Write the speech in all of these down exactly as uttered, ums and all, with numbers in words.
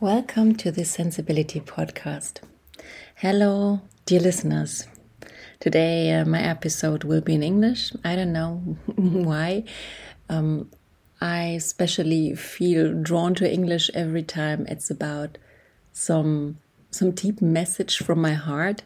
Welcome to the Sensibility Podcast. Hello, dear listeners. Today uh, my episode will be in English. I don't know why. Um, I especially feel drawn to English every time it's about some some deep message from my heart.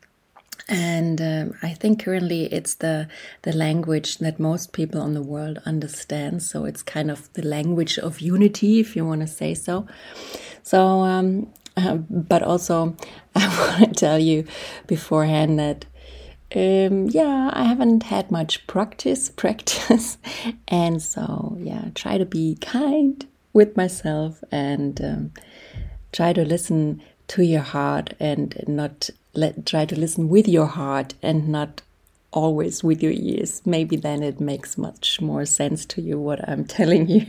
And um, I think currently it's the the language that most people on the world understand. So it's kind of the language of unity, if you want to say so. So, um, uh, but also I want to tell you beforehand that, um, yeah, I haven't had much practice, practice. And so, yeah, try to be kind with myself and um, try to listen to your heart and not let, try to listen with your heart and not always with your ears. Maybe then it makes much more sense to you what I'm telling you.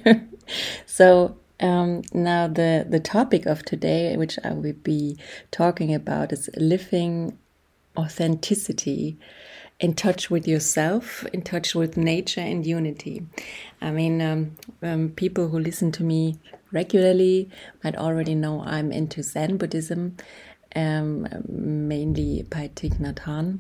So, Um, now the, the topic of today, which I will be talking about, is living authenticity, in touch with yourself, in touch with nature and unity. I mean, um, um, people who listen to me regularly might already know I'm into Zen Buddhism, um, mainly by Thich Nhat Hanh,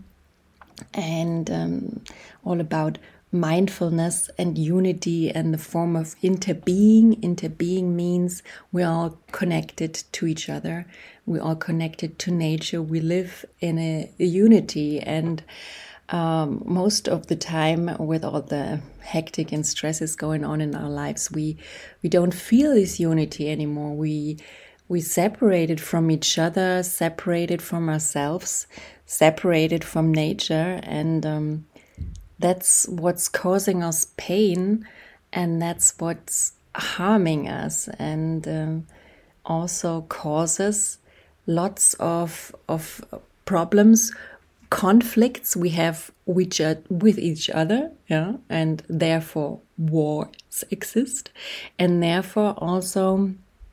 and um, all about mindfulness and unity and the form of interbeing. Interbeing means we're all connected to each other. We're all connected to nature. We live in a, a unity. And um, most of the time, with all the hectic and stresses going on in our lives, we we don't feel this unity anymore. We we separated from each other, separated from ourselves, separated from nature, and um, that's what's causing us pain, and that's what's harming us, and um, also causes lots of of problems, conflicts we have with, with each other, yeah, and therefore wars exist, and therefore also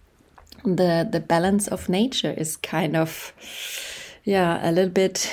the the balance of nature is kind of, yeah, a little bit.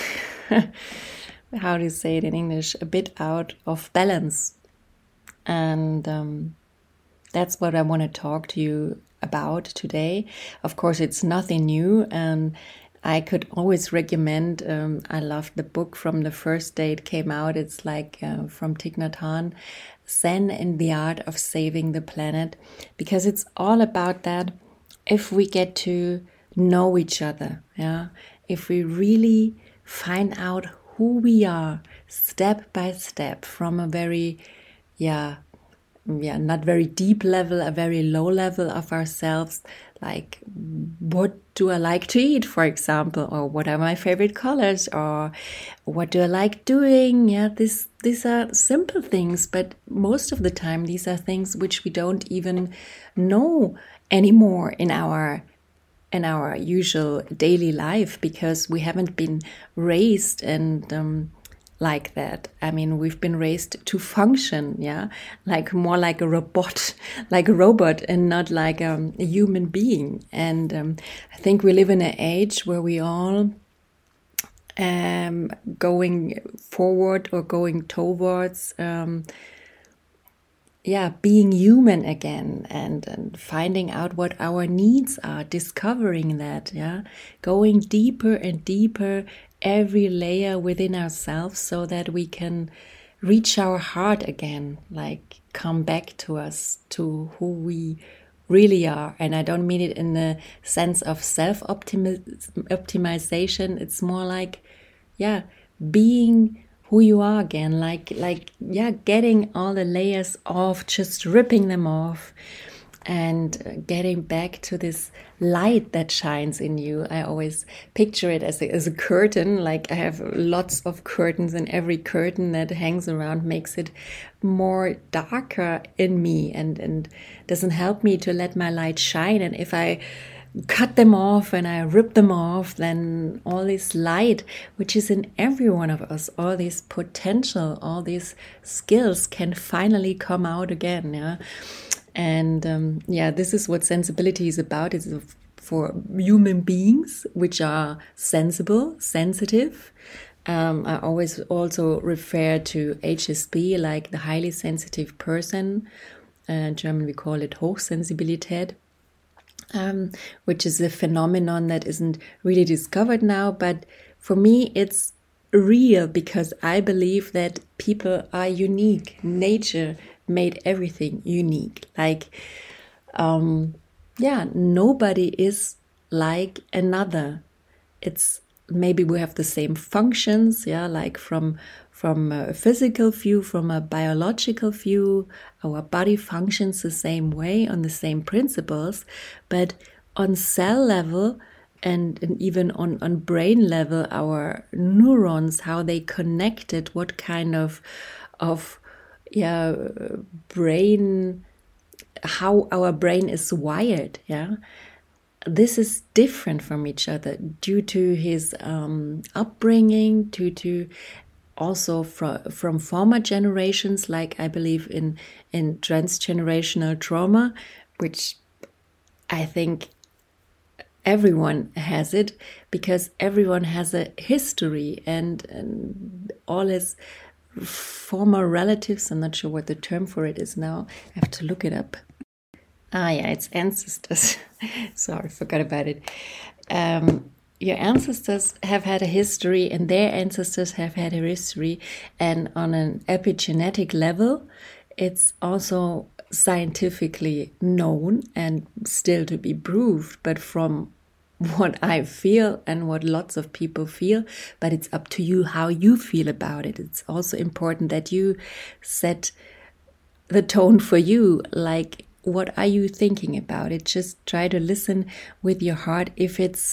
How do you say it in English? A bit out of balance. And um, that's what I want to talk to you about today. Of course, it's nothing new. And I could always recommend, um, I loved the book from the first day it came out. It's like uh, from Thich Nhat Hanh, Zen and the Art of Saving the Planet. Because it's all about that. If we get to know each other, yeah, if we really find out who we are step by step from a very, yeah, yeah, not very deep level, a very low level of ourselves. Like, what do I like to eat, for example, or what are my favorite colors, or what do I like doing? Yeah, this these are simple things, but most of the time these are things which we don't even know anymore in our in our usual daily life, because we haven't been raised and um, like that. I mean, we've been raised to function, yeah, like more like a robot, like a robot, and not like um, a human being. And um, I think we live in an age where we all um, going forward or going towards um, yeah, being human again, and, and finding out what our needs are, discovering that, yeah, going deeper and deeper every layer within ourselves so that we can reach our heart again, like come back to us, to who we really are. And I don't mean it in the sense of self-optimization. It's more like, yeah, being who you are again, like, like, yeah, getting all the layers off, just ripping them off, and getting back to this light that shines in you. I always picture it as a, as a curtain. Like, I have lots of curtains, and every curtain that hangs around makes it more darker in me, and, and doesn't help me to let my light shine. And if I cut them off and I rip them off, then all this light, which is in every one of us, all this potential, all these skills can finally come out again. Yeah. And um, yeah, this is what sensibility is about. It's for human beings which are sensible, sensitive. Um, I always also refer to H S P, like the highly sensitive person. Uh, in German, we call it Hochsensibilität. um, which is a phenomenon that isn't really discovered now. But for me, it's real because I believe that people are unique. Nature made everything unique. Like, um, yeah, nobody is like another. It's maybe we have the same functions, yeah, like from from a physical view, from a biological view, our body functions the same way on the same principles, but on cell level and, and even on, on brain level, our neurons, how they connected, what kind of of yeah brain, how our brain is wired, yeah. This is different from each other due to his um, upbringing, due to also from from former generations, like I believe in in transgenerational trauma, which I think everyone has it because everyone has a history, and, and all his former relatives. I'm not sure what the term for it is now. I have to look it up. Ah, yeah, it's ancestors. Sorry, forgot about it. Um, your ancestors have had a history, and their ancestors have had a history. And on an epigenetic level, it's also scientifically known and still to be proved. But from what I feel and what lots of people feel, but it's up to you how you feel about it. It's also important that you set the tone for you, like, what are you thinking about it? Just try to listen with your heart if it's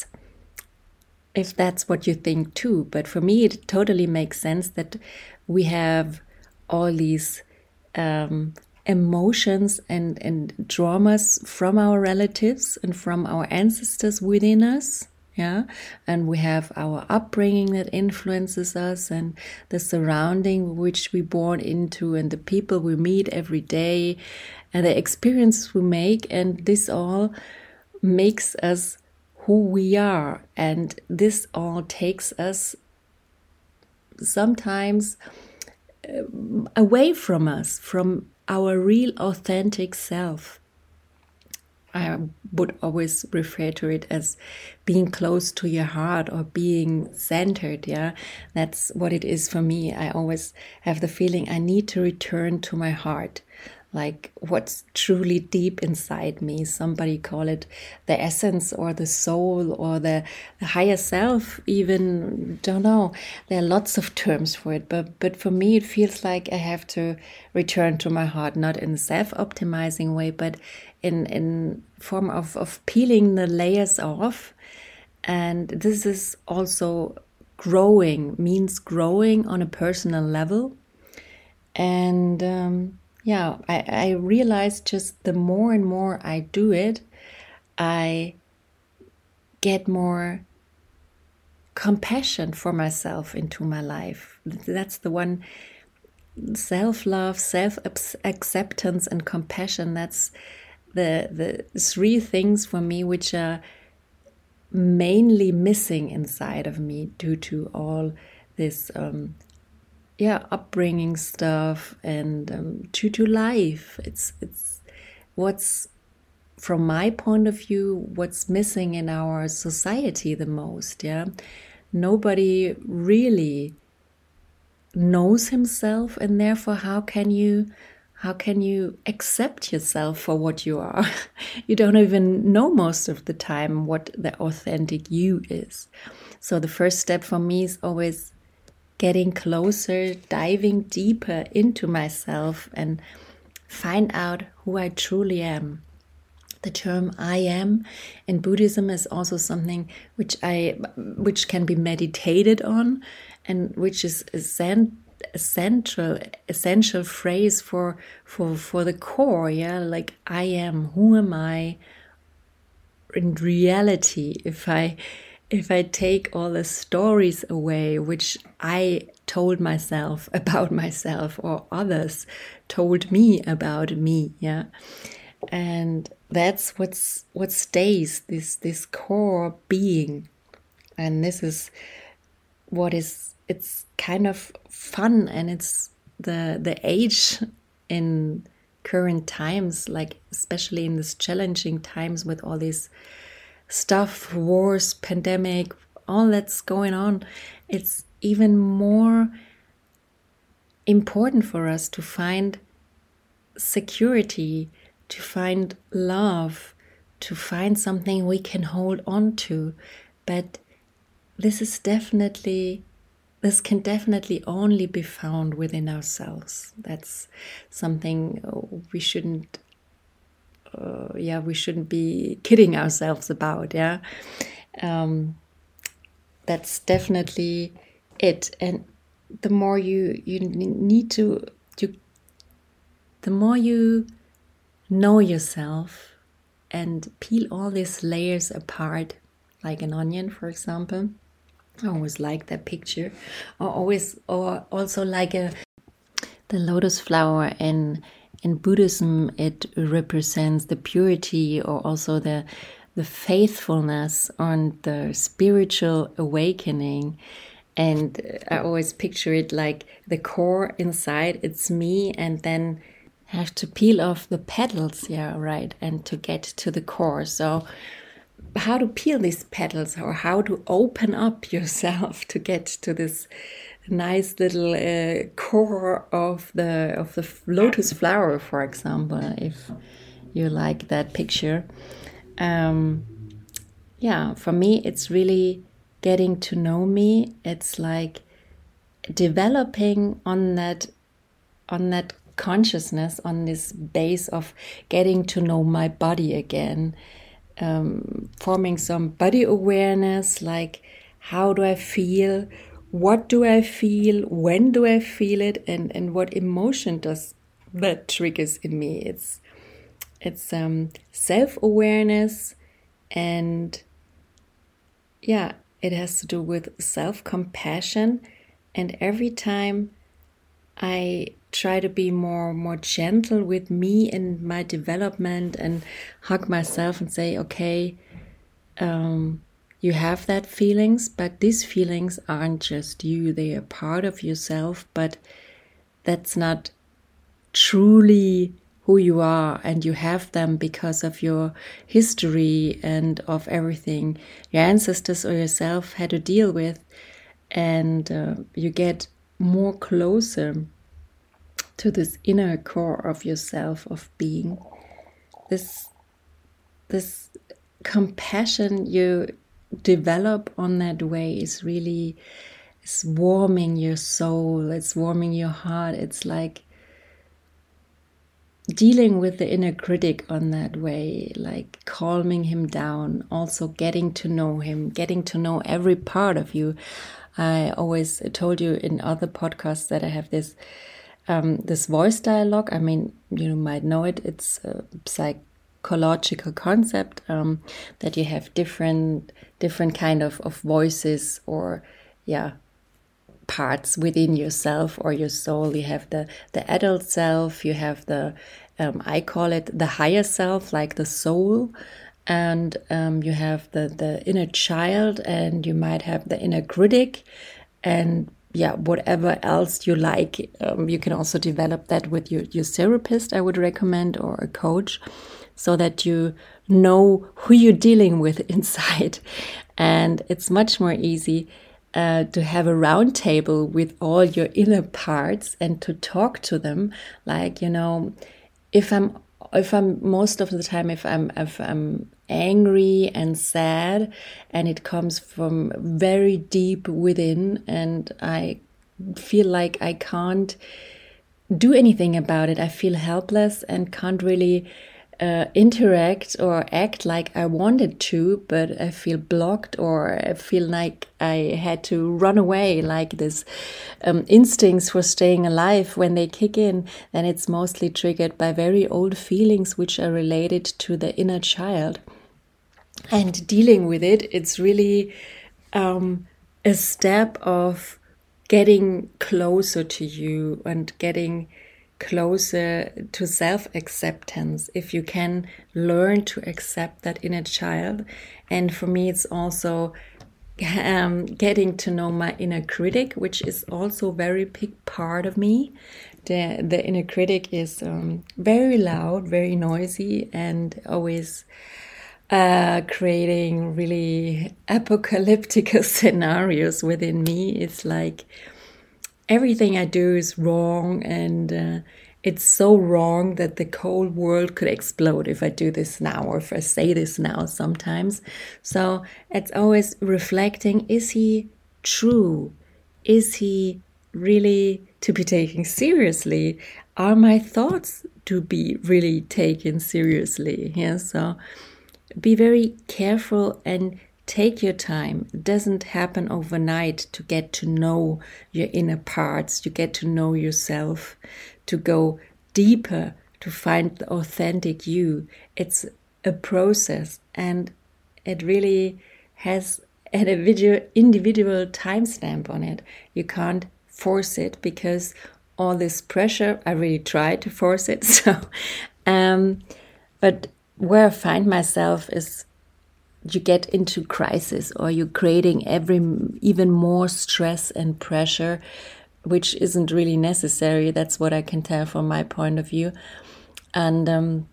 if that's what you think too. But for me, it totally makes sense that we have all these um, emotions and, and traumas from our relatives and from our ancestors within us. Yeah, and we have our upbringing that influences us, and the surrounding which we born into, and the people we meet every day, and the experiences we make, and this all makes us who we are, and this all takes us sometimes uh, away from us, from our real authentic self. I would always refer to it as being close to your heart or being centered. Yeah, that's what it is for me. I always have the feeling I need to return to my heart, like what's truly deep inside me. Somebody call it the essence or the soul or the, the higher self, even, don't know. There are lots of terms for it, but but for me it feels like I have to return to my heart, not in a self-optimizing way, but in in form of, of peeling the layers off. And this is also growing, means growing on a personal level. And um, yeah, I, I realized just the more and more I do it, I get more compassion for myself into my life. That's the one, self-love, self-acceptance and compassion. That's the the three things for me which are mainly missing inside of me due to all this um, yeah upbringing stuff and um, due to life. It's it's what's, from my point of view, what's missing in our society the most. Yeah, nobody really knows himself, and therefore how can you how can you accept yourself for what you are? You don't even know most of the time what the authentic you is. So the first step for me is always getting closer, diving deeper into myself and find out who I truly am. The term I am in Buddhism is also something which I which can be meditated on, and which is a central essential phrase for for for the core. Yeah, like I am, who am I in reality? If I if I take all the stories away which I told myself about myself, or others told me about me, yeah, and that's what's what stays, this this core being. And this is what is, it's kind of fun, and it's the the age in current times, like especially in these challenging times with all this stuff, wars, pandemic, all that's going on, it's even more important for us to find security, to find love, to find something we can hold on to. But this is definitely, this can definitely only be found within ourselves. That's something we shouldn't, uh, yeah, we shouldn't be kidding ourselves about. Yeah, um, that's definitely it. And the more you you need to, you, the more you know yourself and peel all these layers apart, like an onion, for example. I always like that picture. Or always, or also like a the lotus flower in in Buddhism. It represents the purity, or also the the faithfulness, and the spiritual awakening. And I always picture it like the core inside. It's me, and then have to peel off the petals, yeah, right, and to get to the core. So how to peel these petals, or how to open up yourself to get to this nice little uh, core of the of the lotus flower, for example, if you like that picture. Um, yeah, for me, it's really getting to know me. It's like developing on that on that consciousness, on this base of getting to know my body again, um, forming some body awareness, like how do I feel, what do I feel, when do I feel it, and, and what emotion does that triggers in me. It's it's um, self-awareness, and yeah, it has to do with self-compassion. And every time I try to be more more gentle with me and my development, and hug myself and say, okay, um, you have that feelings, but these feelings aren't just you. They are part of yourself, but that's not truly who you are, and you have them because of your history and of everything your ancestors or yourself had to deal with. And uh, you get more closer to this inner core of yourself, of being. This, this compassion you develop on that way is really, it's warming your soul, it's warming your heart. It's like dealing with the inner critic on that way, like calming him down, also getting to know him, getting to know every part of you. I always told you in other podcasts that I have this um, this voice dialogue. I mean, you might know it. It's a psychological concept um, that you have different different kind of, of voices, or yeah, parts within yourself or your soul. You have the the adult self. You have the um, I call it the higher self, like the soul. And um, you have the, the inner child, and you might have the inner critic, and yeah, whatever else you like. Um, you can also develop that with your, your therapist, I would recommend, or a coach, so that you know who you're dealing with inside. And it's much more easy uh, to have a round table with all your inner parts and to talk to them. Like, you know, if I'm If I'm most of the time, if I'm if I'm angry and sad, and it comes from very deep within, and I feel like I can't do anything about it, I feel helpless and can't really uh, interact or act like I wanted to, but I feel blocked, or I feel like I had to run away, like this um, instincts for staying alive, when they kick in, then it's mostly triggered by very old feelings which are related to the inner child. And dealing with it, it's really um, a step of getting closer to you and getting closer to self-acceptance, if you can learn to accept that inner child. And for me, it's also um, getting to know my inner critic, which is also a very big part of me, the the inner critic is um, very loud, very noisy, and always uh, creating really apocalyptic scenarios within me. It's like everything I do is wrong, and uh, it's so wrong that the whole world could explode if I do this now, or if I say this now sometimes. So it's always reflecting, is he true? Is he really to be taken seriously? Are my thoughts to be really taken seriously? Yeah, so be very careful and take your time. It doesn't happen overnight to get to know your inner parts, to get to know yourself, to go deeper, to find the authentic you. It's a process, and it really has an individual, individual timestamp on it. You can't force it because all this pressure, I really try to force it. So, um, but where I find myself is you get into crisis, or you're creating every even more stress and pressure, which isn't really necessary. That's what I can tell from my point of view. And um,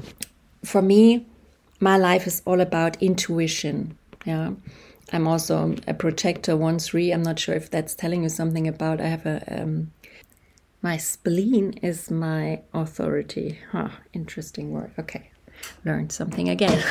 for me, my life is all about intuition. Yeah, I'm also a projector one three. I'm not sure if that's telling you something about. I have a um, my spleen is my authority. Huh, interesting word. Okay. Learned something again.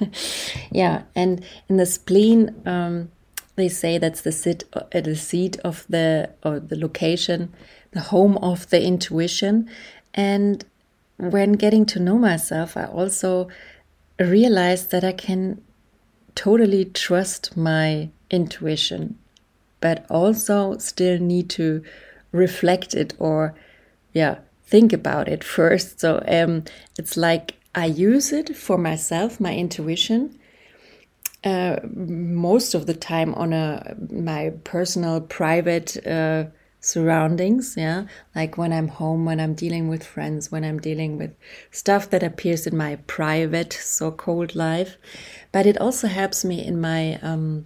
Yeah, and in the spleen, um, they say that's the sit, uh, the seat of the or the location, the home of the intuition. And when getting to know myself, I also realized that I can totally trust my intuition, but also still need to reflect it, or yeah, think about it first. So um, it's like I use it for myself, my intuition, uh, most of the time on a my personal, private uh, surroundings. Yeah, like when I'm home, when I'm dealing with friends, when I'm dealing with stuff that appears in my private, so-called life. But it also helps me in my um,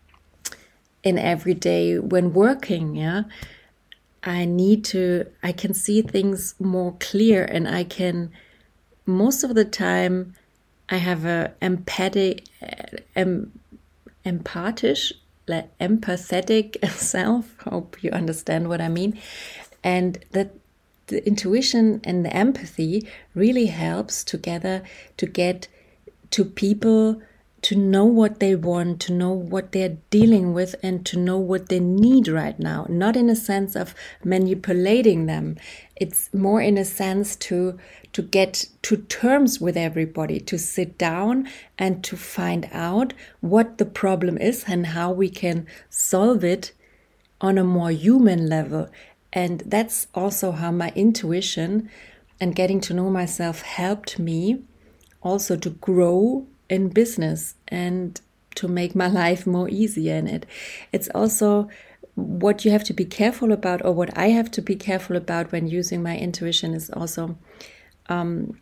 in every day when working. Yeah, I need to. I can see things more clear, and I can. Most of the time, I have a empathic, em, empathic, like empathetic self. Hope you understand what I mean. And that the intuition and the empathy really helps together to get to people, to know what they want, to know what they're dealing with, and to know what they need right now. Not in a sense of manipulating them. It's more in a sense to to get to terms with everybody, to sit down and to find out what the problem is and how we can solve it on a more human level. And that's also how my intuition and getting to know myself helped me also to grow in business and to make my life more easier in it. It's also what you have to be careful about, or what I have to be careful about when using my intuition, is also um,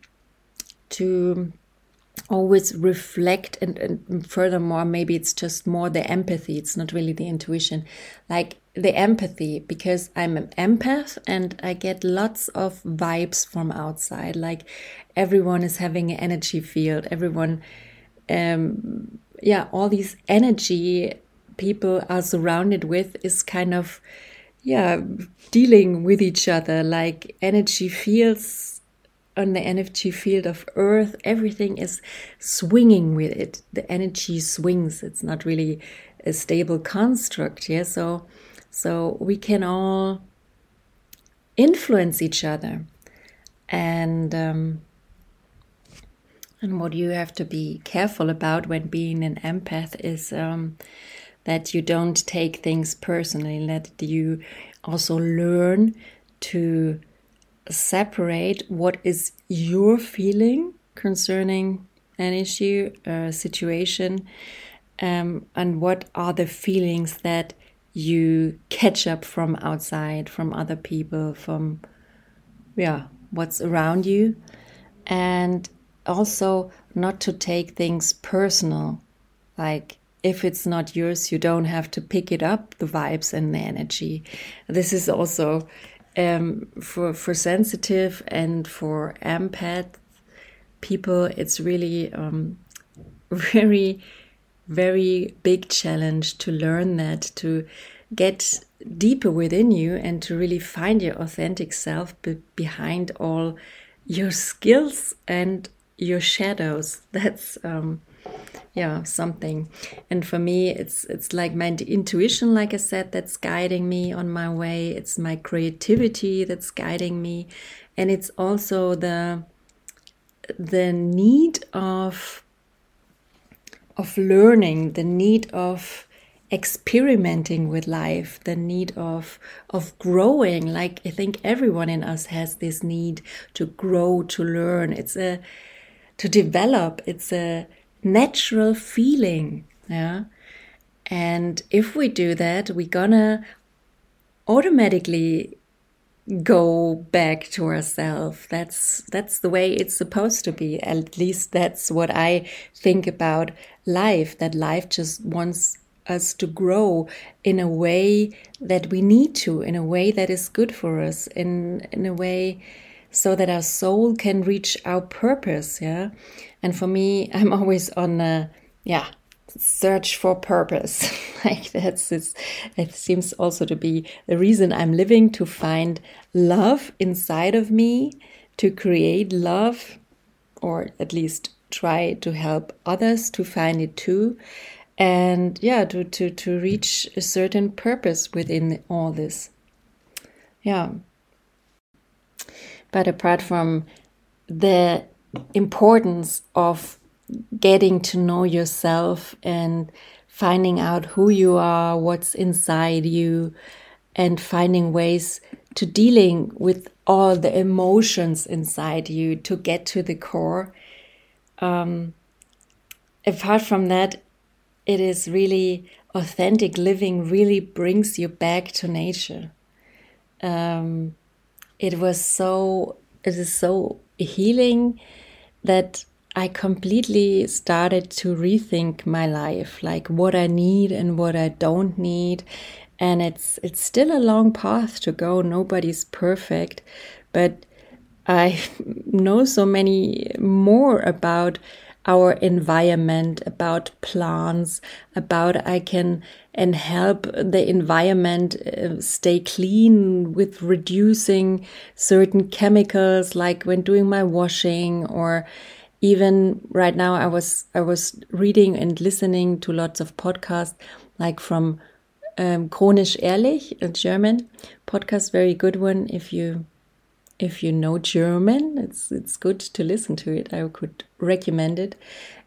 to always reflect and, and furthermore, maybe it's just more the empathy. It's not really the intuition, like the empathy, because I'm an empath and I get lots of vibes from outside. Like everyone is having an energy field. Everyone, um, yeah, all these energy people are surrounded with is kind of, yeah, dealing with each other, like energy fields. On the energy field of Earth, everything is swinging with it. The energy swings. It's not really a stable construct. Yeah, so so we can all influence each other, and um, and what you have to be careful about when being an empath is um, that you don't take things personally. That you also learn to separate what is your feeling concerning an issue, a situation, um, and what are the feelings that you catch up from outside, from other people, from yeah, what's around you, and also not to take things personal. Like if it's not yours, you don't have to pick it up, the vibes and the energy. This is also um, for for sensitive and for empath people, it's really um, very, very big challenge to learn that, to get deeper within you and to really find your authentic self be- behind all your skills and your shadows. That's um, yeah, something. And for me, it's it's like my intuition, like I said, that's guiding me on my way. It's my creativity that's guiding me, and it's also the the need of of learning, the need of experimenting with life, the need of of growing. Like, I think everyone in us has this need to grow, to learn. It's a to develop. It's a natural feeling, yeah. And if we do that, we're gonna automatically go back to ourselves. That's that's the way it's supposed to be. At least that's what I think about life, that life just wants us to grow in a way that we need to, in a way that is good for us, in in a way so that our soul can reach our purpose, yeah. And for me, I'm always on a yeah search for purpose. Like, that's it's, it seems also to be the reason I'm living, to find love inside of me, to create love, or at least try to help others to find it too, and yeah, to to to reach a certain purpose within all this. Yeah. But apart from the importance of getting to know yourself and finding out who you are, what's inside you, and finding ways to dealing with all the emotions inside you to get to the core. Um, apart from that, it is really authentic living really brings you back to nature. Um, it was so, it is so healing that I completely started to rethink my life, like what I need and what I don't need. And it's it's still a long path to go. Nobody's perfect, but I know so many more about our environment, about plants, about I can and help the environment uh, stay clean with reducing certain chemicals, like when doing my washing, or even right now I was I was reading and listening to lots of podcasts, like from um, Chronisch Ehrlich, a German podcast, very good one. If you if you know German, it's it's good to listen to it. I could recommend it.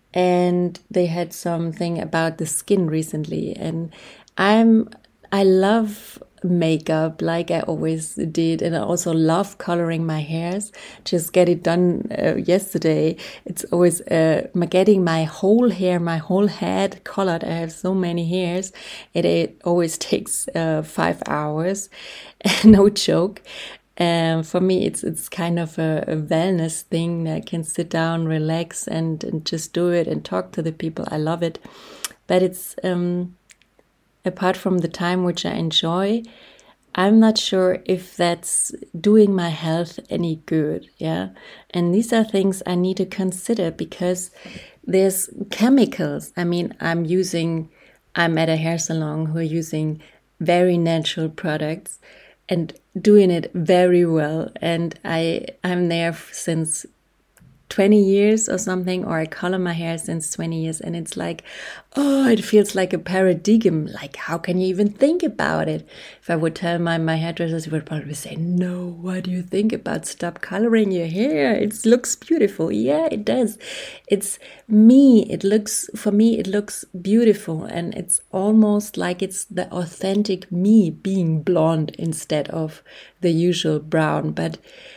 And they had something about the skin recently, and I'm I love makeup like I always did, and I also love coloring my hairs. Just get it done uh, yesterday. It's always uh, getting my whole hair, my whole head colored. I have so many hairs. It, it always takes uh, five hours, no joke. Um, for me, it's it's kind of a, a wellness thing. I can sit down, relax, and, and just do it and talk to the people. I love it. But it's um, apart from the time which I enjoy, I'm not sure if that's doing my health any good. Yeah, and these are things I need to consider, because there's chemicals. I mean, I'm using. I'm at a hair salon who are using very natural products and doing it very well. And I, I'm there since twenty years or something, or I color my hair since twenty years. And it's like, oh, it feels like a paradigm. Like, how can you even think about it? If I would tell my, my hairdressers, he would probably say, no, what do you think about? Stop coloring your hair. It looks beautiful. Yeah, it does. It's me. It looks, for me, it looks beautiful. And it's almost like it's the authentic me being blonde instead of the usual brown. But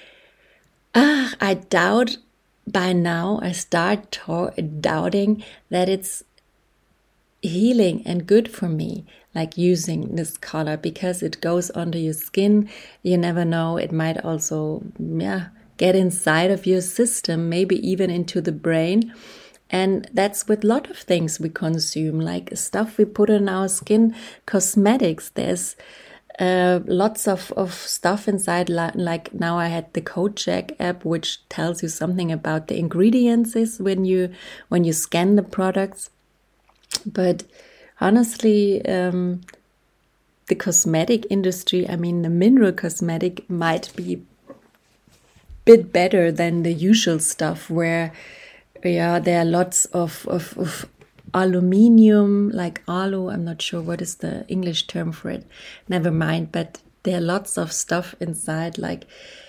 ah, I doubt by now, I start to- doubting that it's healing and good for me, like using this color, because it goes under your skin. You never know. It might also, yeah, get inside of your system, maybe even into the brain. And that's with a lot of things we consume, like stuff we put on our skin, cosmetics. There's uh, lots of, of stuff inside. Like now I had the CodeCheck app, which tells you something about the ingredients when you when you scan the products. But honestly, um, the cosmetic industry, I mean, the mineral cosmetic might be a bit better than the usual stuff where, yeah, there are lots of, of, of aluminium, like alu, I'm not sure what is the English term for it, never mind, but there are lots of stuff inside, like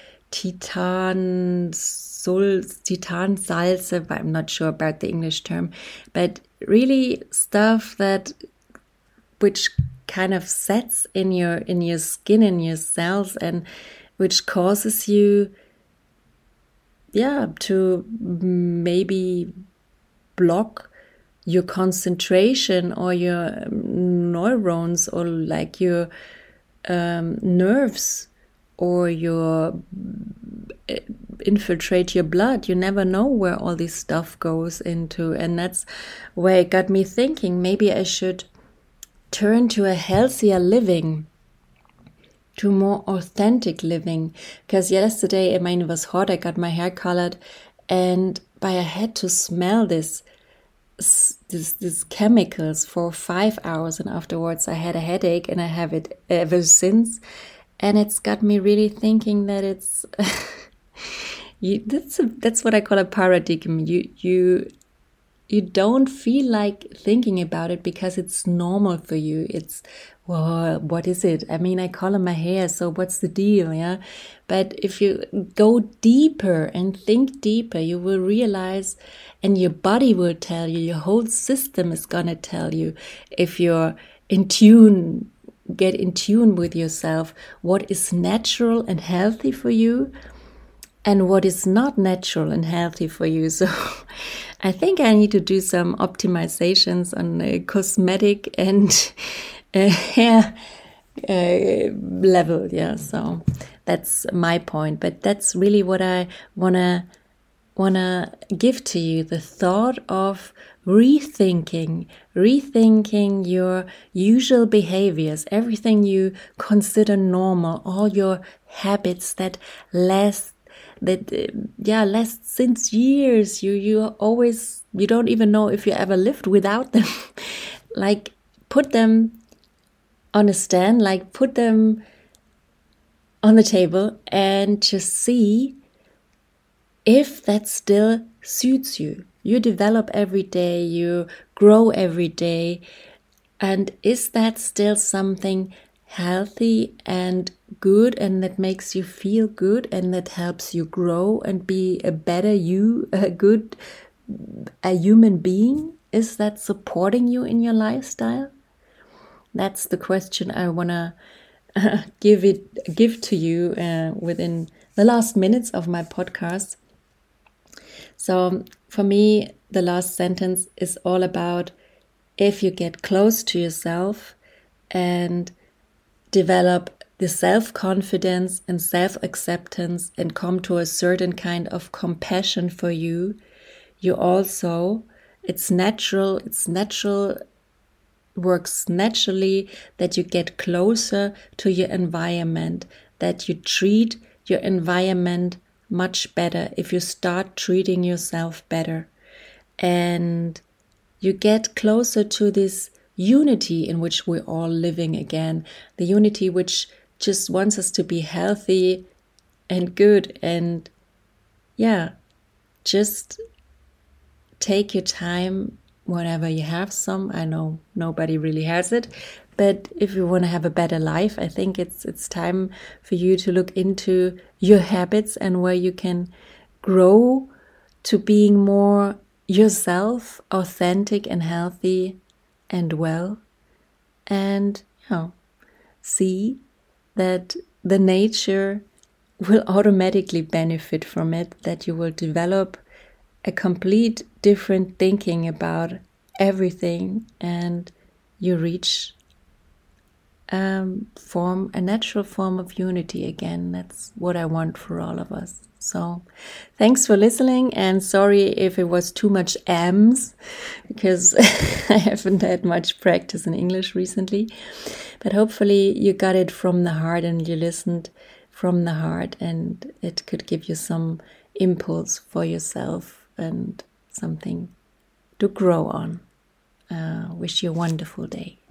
titan, sul, titan salze, but I'm not sure about the English term, but really stuff that, which kind of sets in your, in your skin, in your cells, and which causes you, yeah, to maybe block your concentration or your neurons or like your um, nerves or your uh, infiltrate your blood. You never know where all this stuff goes into. And that's where it got me thinking, maybe I should turn to a healthier living, to more authentic living. Because yesterday, I mean, it was hot, I got my hair colored, and but I had to smell this This, these chemicals for five hours, and afterwards I had a headache, and I have it ever since. And it's got me really thinking that it's you, that's a, that's what I call a paradigm. You you you don't feel like thinking about it because it's normal for you. It's, well, what is it? I mean, I color my hair, so what's the deal? Yeah, but if you go deeper and think deeper, you will realize, and your body will tell you, your whole system is gonna tell you, if you're in tune, get in tune with yourself, what is natural and healthy for you, and what is not natural and healthy for you. So I think I need to do some optimizations on the cosmetic and uh, hair uh, level. Yeah, so that's my point. But that's really what I wanna wanna give to you, the thought of rethinking, rethinking your usual behaviors, everything you consider normal, all your habits that last that uh, yeah last since years. You you always, you don't even know if you ever lived without them. Like, put them on a stand, like put them on the table, and just see if that still suits you. You develop every day, you grow every day, and is that still something healthy and good, and that makes you feel good, and that helps you grow and be a better you, a good, a human being? Is that supporting you in your lifestyle? That's the question I wanna uh, give it, give to you uh, within the last minutes of my podcast. So for me, the last sentence is all about, if you get close to yourself and develop the self-confidence and self-acceptance and come to a certain kind of compassion for you, you also, it's natural, it's natural, works naturally that you get closer to your environment, that you treat your environment much better if you start treating yourself better. And you get closer to this unity in which we're all living again, the unity which just wants us to be healthy and good. And yeah, just take your time whenever you have some. I know nobody really has it, but if you want to have a better life, I think it's it's time for you to look into your habits and where you can grow to being more yourself, authentic and healthy and well, and you know, see that the nature will automatically benefit from it, that you will develop a complete different thinking about everything, and you reach um, form, a natural form of unity again. That's what I want for all of us. So thanks for listening, and sorry if it was too much ams, because I haven't had much practice in English recently. But hopefully you got it from the heart and you listened from the heart, and it could give you some impulse for yourself and something to grow on. Uh, wish you a wonderful day.